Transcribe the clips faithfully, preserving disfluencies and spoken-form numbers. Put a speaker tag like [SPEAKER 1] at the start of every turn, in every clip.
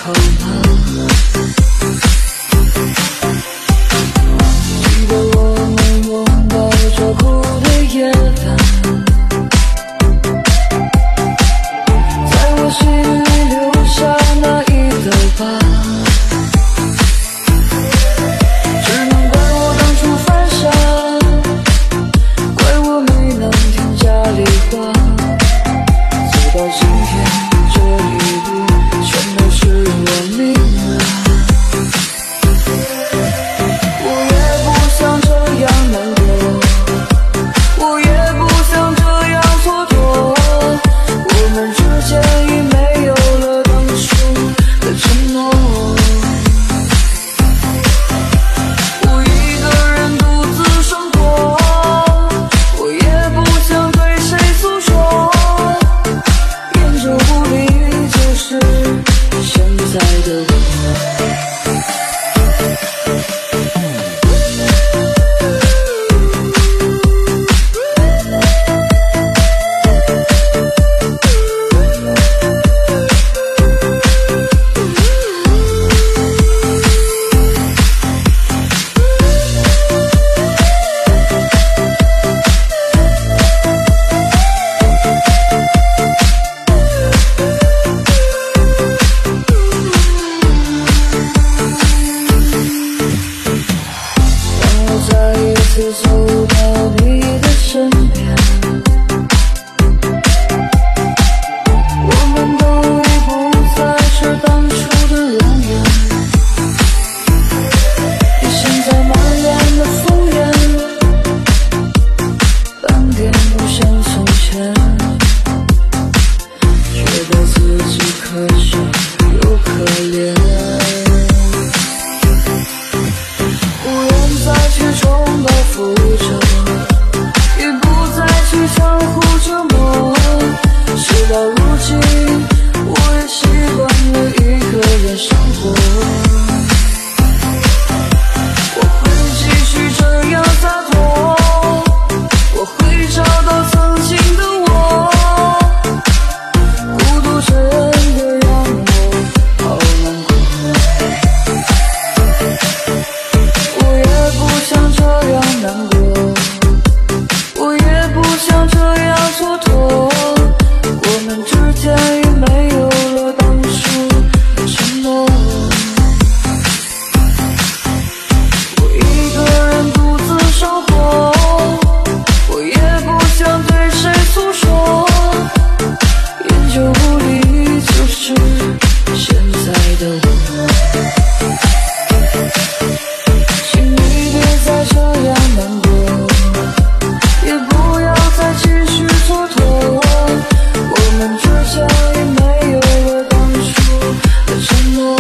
[SPEAKER 1] 好吗？记得我们拥抱着哭的夜晚，在我心里留下那一道疤，只能怪我当初犯傻，怪我没能听家里话，走到今天这一步全都是我命啊。我也不想这样难过，我也不想这样蹉跎，我们之间已没有了当初的承诺。我一个人独自生活，我也不想对谁诉说，烟酒不离就是现在的我。再一次走到你的身边，我们都已不再是当初的容颜，你现在满脸的风烟，半点不像从前，觉得自己可笑又可怜，不愿再去重蹈覆辙，也不再去相互折磨，事到如今我也习惯了一个人生活，我会继续这样洒脱，我会找到曾经的我，孤独真的让我好难过，我也不想这样难过，我也不想这样蹉跎，我们之间已没有了当初的承诺。我一个人独自生活，我也不想对谁诉说，烟酒不离就是现在的我。请你别再这样难过，也不要再继续蹉跎，我们之间已没有了当初的承诺。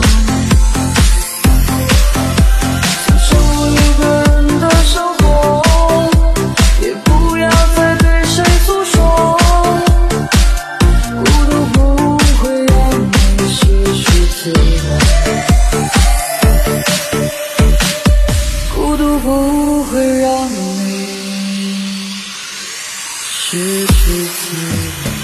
[SPEAKER 1] 享受一个人的生活，也不要再对谁诉说，孤独不会让你失去自我，孤独不会让你失去自我。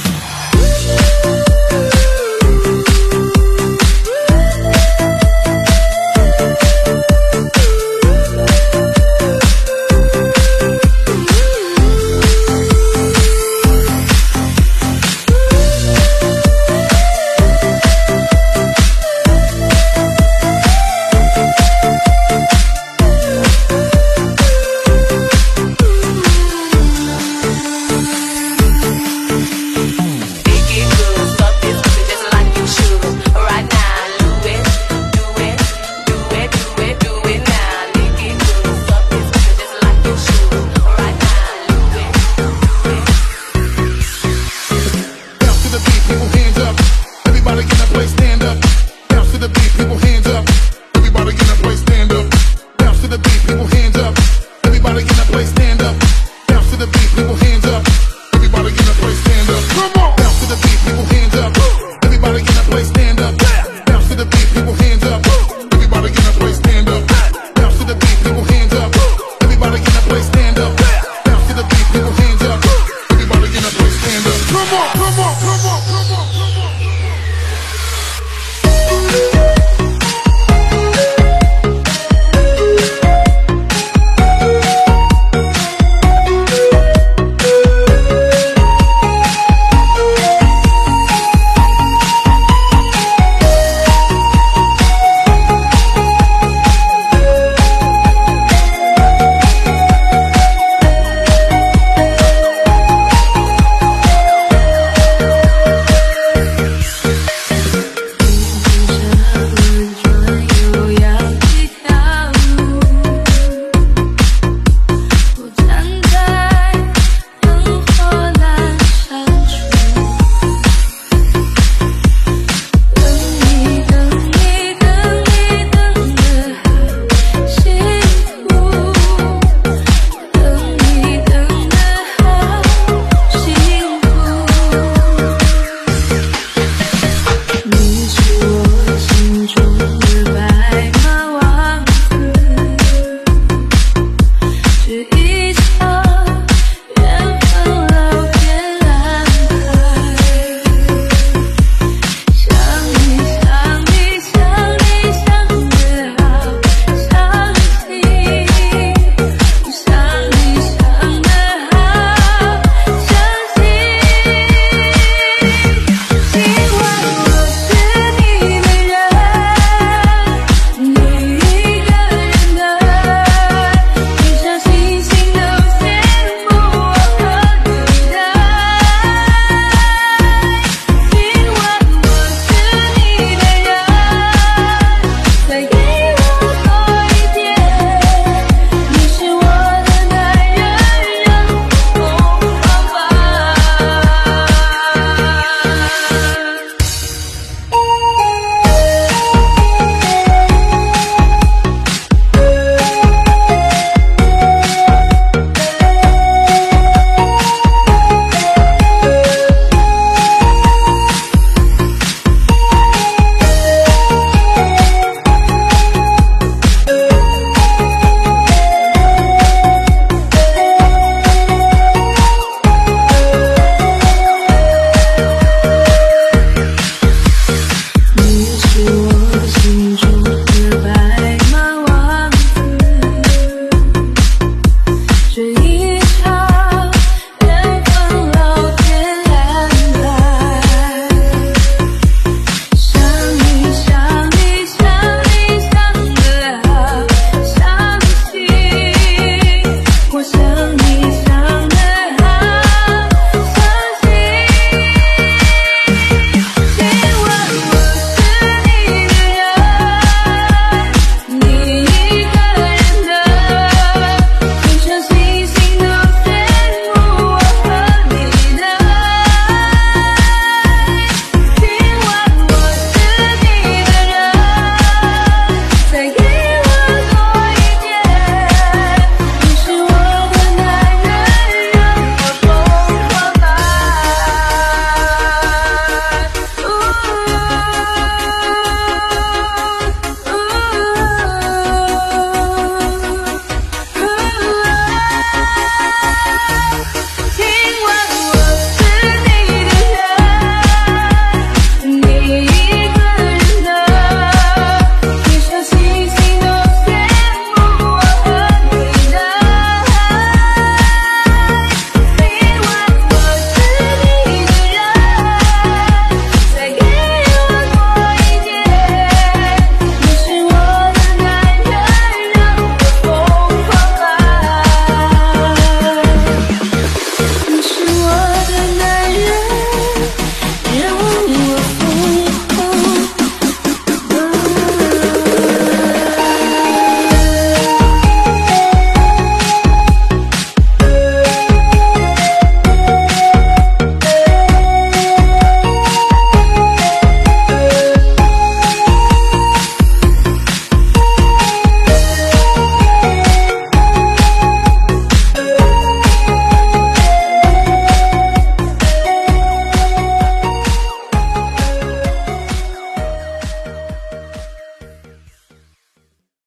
[SPEAKER 2] Everybody in the place now.